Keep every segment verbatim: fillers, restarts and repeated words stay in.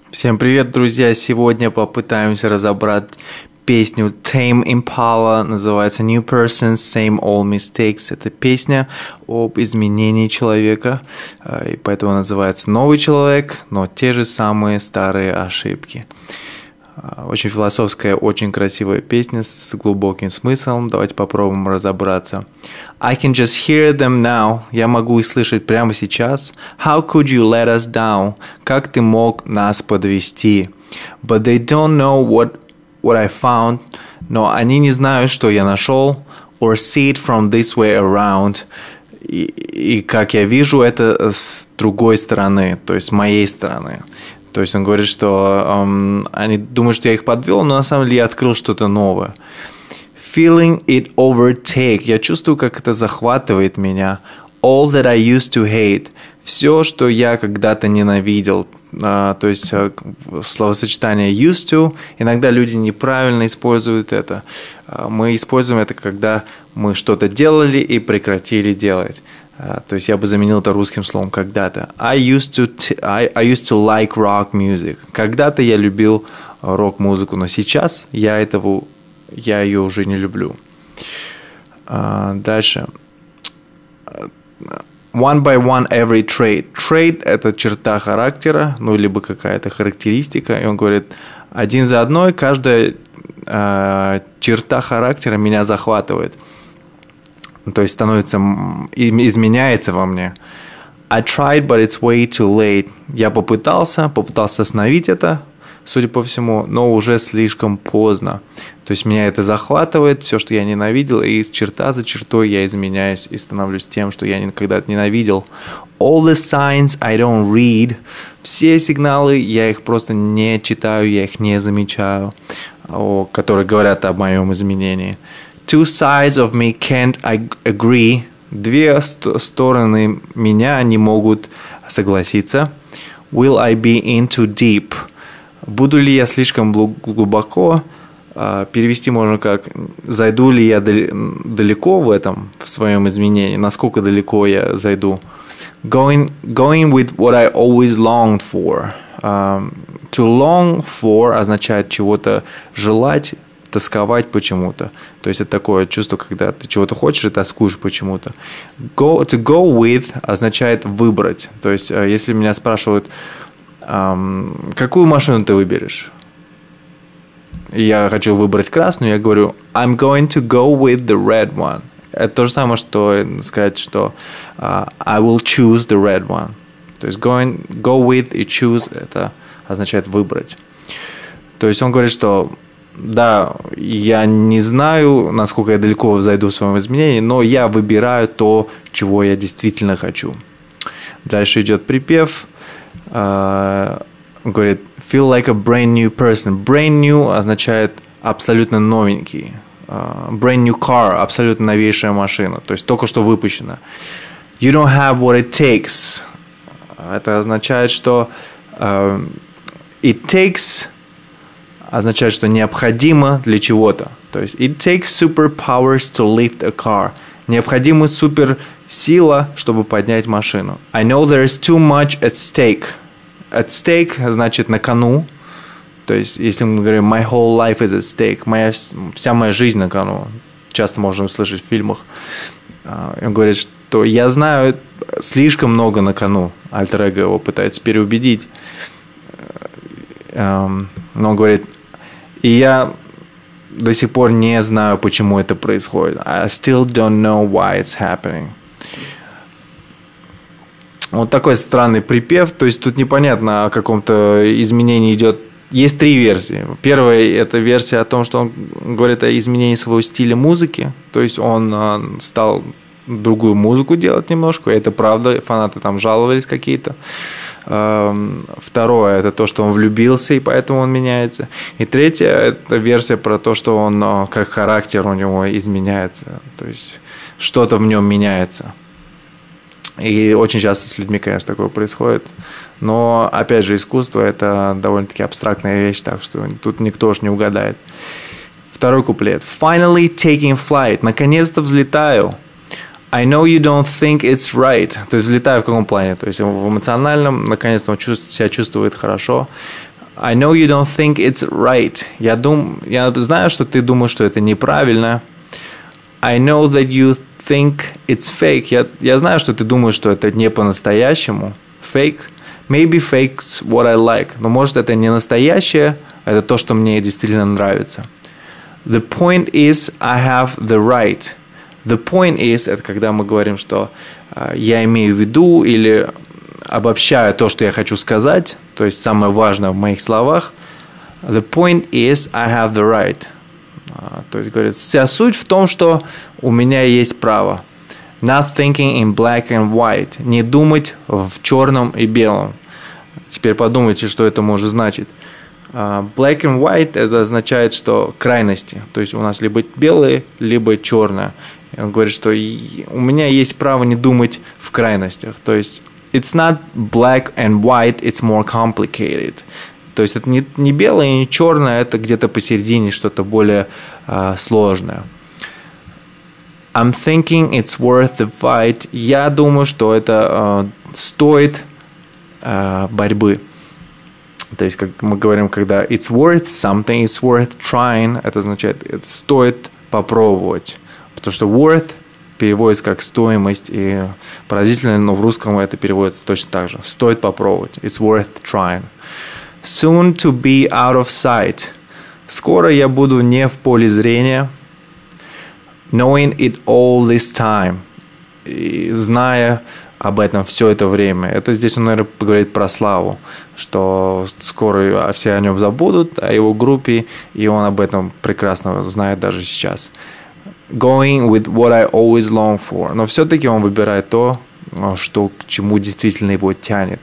Всем привет, друзья! Сегодня попытаемся разобрать песню Tame Impala, называется New Persons, Same Old Mistakes. Это песня об изменении человека, и поэтому называется «Новый человек», но те же самые старые ошибки. Очень философская, очень красивая песня с глубоким смыслом. Давайте попробуем разобраться. I can just hear them now. Я могу их слышать прямо сейчас. How could you let us down? Как ты мог нас подвести? But they don't know what, what I found. Но они не знают, что я нашел. Or see it from this way around. И, и как я вижу это с другой стороны, то есть с моей стороны. То есть он говорит, что um, они думают, что я их подвел, но на самом деле я открыл что-то новое. Feeling it overtake. Я чувствую, как это захватывает меня. All that I used to hate. Все, что я когда-то ненавидел. Uh, то есть uh, словосочетание used to. Иногда люди неправильно используют это. Uh, мы используем это, когда мы что-то делали и прекратили делать. Uh, то есть я бы заменил это русским словом когда-то. I used to t- I, I used to like rock music. Когда-то я любил рок-музыку, но сейчас я этого я ее уже не люблю. Uh, дальше. One by one every trait. Trait – это черта характера, ну либо какая-то характеристика. И он говорит, один за одной каждая uh, черта характера меня захватывает. То есть становится, изменяется во мне. I tried, but it's way too late. Я попытался, попытался остановить это, судя по всему, но уже слишком поздно. То есть меня это захватывает, все, что я ненавидел, и черта за чертой я изменяюсь и становлюсь тем, что я когда-то ненавидел. All the signs I don't read. Все сигналы, я их просто не читаю, я их не замечаю, которые говорят об моем изменении. Two sides of me can't agree. Две ст- стороны меня не могут согласиться. Will I be in too deep? Буду ли я слишком глубоко? Uh, перевести можно как зайду ли я дал- далеко в этом, в своем изменении, насколько далеко я зайду. Going, going with what I always longed for. Um, to long for означает чего-то желать, тосковать почему-то. То есть это такое чувство, когда ты чего-то хочешь и тоскуешь почему-то. Go, to go with означает выбрать. То есть если меня спрашивают, эм, какую машину ты выберешь? И я хочу выбрать красную, я говорю I'm going to go with the red one. Это то же самое, что сказать, что uh, I will choose the red one. То есть going, go with и choose это означает выбрать. То есть он говорит, что да, я не знаю, насколько я далеко зайду в своем изменении, но я выбираю то, чего я действительно хочу. Дальше идет припев. Он говорит, feel like a brand new person. Brand new означает абсолютно новенький. Brand new car, абсолютно новейшая машина, то есть только что выпущена. You don't have what it takes. Это означает, что it takes означает, что необходимо для чего-то. То есть it takes superpowers to lift a car. Необходима суперсила, чтобы поднять машину. I know there is too much at stake. At stake значит на кону. То есть если мы говорим my whole life is at stake, моя, вся моя жизнь на кону. Часто можно услышать в фильмах. Он говорит, что я знаю слишком много на кону. Альтер-эго его пытается переубедить. Но он говорит, и я до сих пор не знаю, почему это происходит. I still don't know why it's happening. Вот такой странный припев. То есть тут непонятно о каком-то изменении идет. Есть три версии. Первая – это версия о том, что он говорит о изменении своего стиля музыки. То есть он стал другую музыку делать немножко. Это правда, фанаты там жаловались какие-то. Второе – это то, что он влюбился, и поэтому он меняется. И третье – это версия про то, что он, как характер у него изменяется. То есть что-то в нем меняется. И очень часто с людьми, конечно, такое происходит. Но, опять же, искусство – это довольно-таки абстрактная вещь, так что тут никто уж не угадает. Второй куплет. Finally taking flight. Наконец-то взлетаю. I know you don't think it's right. То есть взлетаю в каком плане? То есть в эмоциональном, наконец-то он чувствует, себя чувствует хорошо. I know you don't think it's right. Я, дум... Я знаю, что ты думаешь, что это неправильно. I know that you think it's fake. Я, я знаю, что ты думаешь, что это не по-настоящему. Fake. Maybe fake's what I like. Но может это не настоящее, это то, что мне действительно нравится. The point is I have the right. The point is, это когда мы говорим, что uh, я имею в виду или обобщаю то, что я хочу сказать, то есть самое важное в моих словах. The point is I have the right. Uh, то есть говорит, вся суть в том, что у меня есть право. Not thinking in black and white. Не думать в черном и белом. Теперь подумайте, что это может значить. Uh, black and white это означает, что крайности. То есть у нас либо белое, либо черное. И он говорит, что у меня есть право не думать в крайностях. То есть it's not black and white, it's more complicated. То есть это не, не белое и не черное, это где-то посередине что-то более uh, сложное. I'm thinking it's worth the fight. Я думаю, что это uh, стоит uh, борьбы. То есть, как мы говорим, когда it's worth something, it's worth trying, это означает, это стоит попробовать. Потому что worth переводится как стоимость, и поразительно, но в русском это переводится точно так же. Стоит попробовать. It's worth trying. Soon to be out of sight. Скоро я буду не в поле зрения. Knowing it all this time. И зная об этом все это время. Это здесь он, наверное, говорит про Славу, что скоро все о нем забудут, о его группе, и он об этом прекрасно знает даже сейчас. Going with what I always long for. Но все-таки он выбирает то, что к чему действительно его тянет.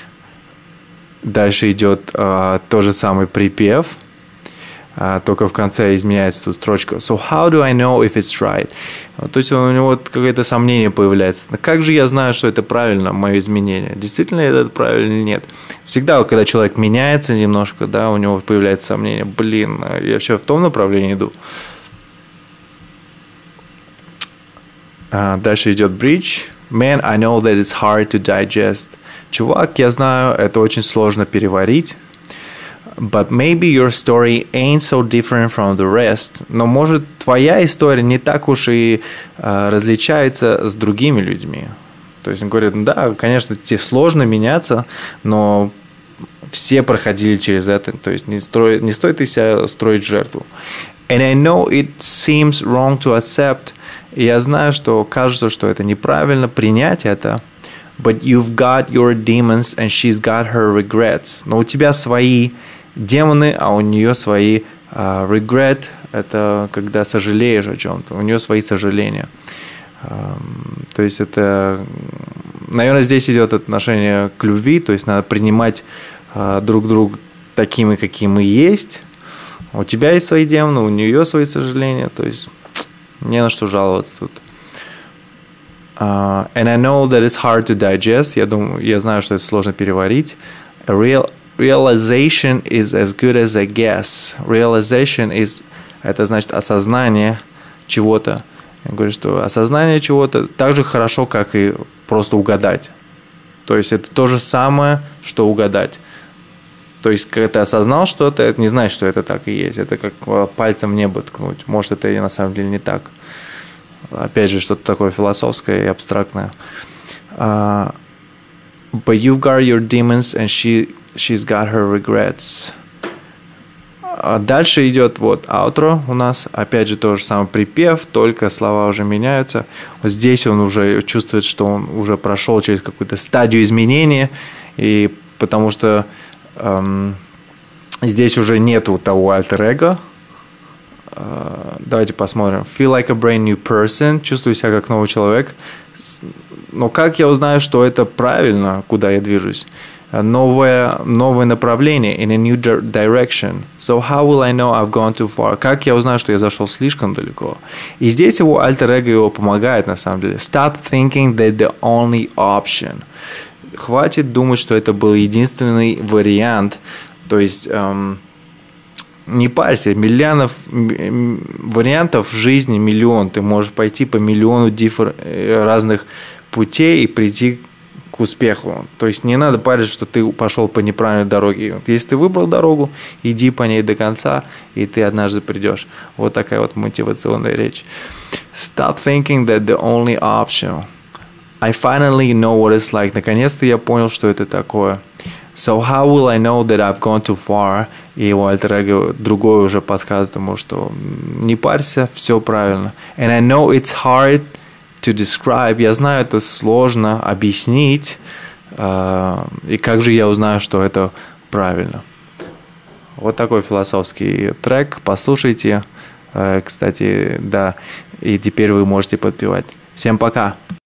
Дальше идет uh, тот же самый припев, uh, только в конце изменяется тут строчка. So how do I know if it's right? То есть у него какое-то сомнение появляется. Как же я знаю, что это правильно, мое изменение? Действительно это правильно или нет? Всегда, когда человек меняется немножко, да, у него появляется сомнение. Блин, я вообще в том направлении иду. Uh, дальше идет bridge. Man, I know that it's hard to digest. Чувак, я знаю, это очень сложно переварить. But maybe your story ain't so different from the rest. Но может твоя история не так уж и uh, различается с другими людьми. То есть он говорит, да, конечно, тебе сложно меняться, но все проходили через это. То есть не, строй, не стоит из себя строить жертву. And I know it seems wrong to accept. И я знаю, что кажется, что это неправильно принять это. But you've got your demons and she's got her regrets. Но у тебя свои демоны, а у нее свои uh, regret. Это когда сожалеешь о чем-то. У нее свои сожаления. Um, то есть это, наверное, здесь идет отношение к любви. То есть надо принимать uh, друг друга такими, какие мы есть. У тебя есть свои демоны, у нее свои сожаления. То есть не на что жаловаться тут. Uh, and I know that it's hard to digest. Я думаю, я знаю, что это сложно переварить. A real realization is as good as a guess. Realization is, это значит осознание чего-то. Я говорю, что осознание чего-то так же хорошо, как и просто угадать. То есть это то же самое, что угадать. То есть, когда ты осознал что-то, это не значит, что это так и есть. Это как пальцем в небо ткнуть. Может, это и на самом деле не так. Опять же, что-то такое философское и абстрактное. Uh, but you've got your demons, and she, she's got her regrets. Uh, дальше идет вот outro у нас. Опять же, тот же самый припев, только слова уже меняются. Вот здесь он уже чувствует, что он уже прошел через какую-то стадию изменения. И потому что um, здесь уже нету того альтер-эго. Uh, давайте посмотрим. Feel like a brand new person. Чувствую себя как новый человек. Но как я узнаю, что это правильно, куда я движусь? Новое, новое направление. In a new direction. So how will I know I've gone too far? Как я узнаю, что я зашел слишком далеко? И здесь его альтер-эго его помогает, на самом деле. Stop thinking that the only option. Хватит думать, что это был единственный вариант. То есть... Um, не парься, миллионов вариантов в жизни, миллион. Ты можешь пойти по миллиону диффер, разных путей и прийти к успеху. То есть не надо париться, что ты пошел по неправильной дороге. Вот если ты выбрал дорогу, иди по ней до конца, и ты однажды придешь. Вот такая вот мотивационная речь. Stop thinking that the only option. I finally know what it's like. Наконец-то я понял, что это такое. So how will I know that I've gone too far? И его альтер-эго другой уже подсказывает ему, что не парься, все правильно. And I know it's hard to describe. Я знаю, это сложно объяснить. Uh, и как же я узнаю, что это правильно? Вот такой философский трек. Послушайте. Uh, кстати, да. И теперь вы можете подпевать. Всем пока.